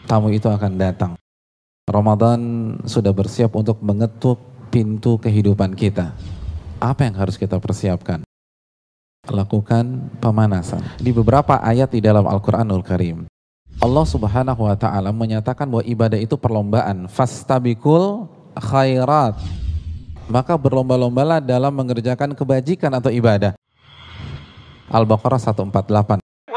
tamu itu akan datang. Ramadan sudah bersiap untuk mengetuk pintu kehidupan kita. Apa yang harus kita persiapkan? Lakukan pemanasan. Di beberapa ayat di dalam Al-Quranul Karim, Allah Subhanahu wa ta'ala menyatakan bahwa ibadah itu perlombaan. Fastabikul khairat. Maka berlomba-lombalah dalam mengerjakan kebajikan atau ibadah. Al-Baqarah 148.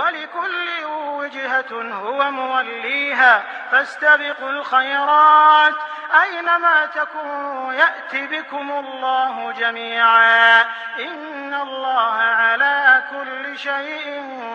فاستبقوا الخيرات أينما تكونوا يأتي بكم الله جميعا إن الله على كل شيء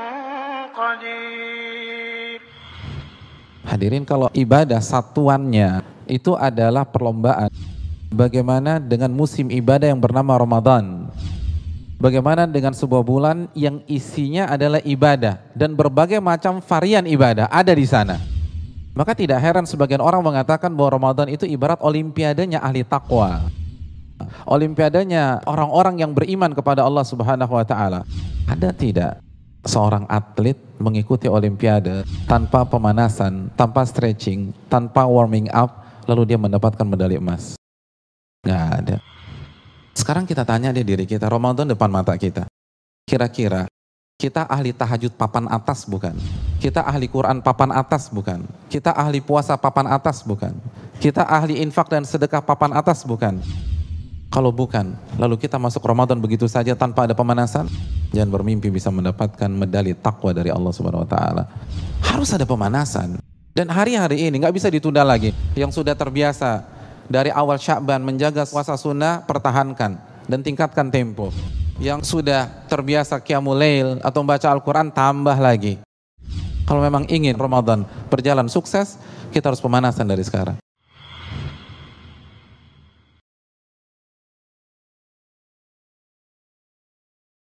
قدير. Hadirin, kalau ibadah satuannya itu adalah perlombaan, bagaimana dengan musim ibadah yang bernama Ramadan? Bagaimana dengan sebuah bulan yang isinya adalah ibadah dan berbagai macam varian ibadah ada di sana? Maka tidak heran sebagian orang mengatakan bahwa Ramadan itu ibarat olimpiadanya ahli takwa. Olimpiadanya orang-orang yang beriman kepada Allah Subhanahu wa ta'ala. Ada tidak seorang atlet mengikuti olimpiade tanpa pemanasan, tanpa stretching, tanpa warming up, lalu dia mendapatkan medali emas? Nggak ada. Sekarang kita tanya di diri kita, Ramadan depan mata kita. Kira-kira kita ahli tahajud papan atas bukan? Kita ahli Quran papan atas bukan? Kita ahli puasa papan atas bukan? Kita ahli infak dan sedekah papan atas bukan? Kalau bukan, lalu kita masuk Ramadan begitu saja tanpa ada pemanasan? Jangan bermimpi bisa mendapatkan medali takwa dari Allah Subhanahu wa ta'ala. Harus ada pemanasan. Dan hari-hari ini nggak bisa ditunda lagi. Yang sudah terbiasa dari awal Sya'ban menjaga puasa sunnah, pertahankan dan tingkatkan tempo. Yang sudah terbiasa qiyamul lail atau membaca Al-Quran, tambah lagi. Kalau memang ingin Ramadan berjalan sukses, kita harus pemanasan dari sekarang.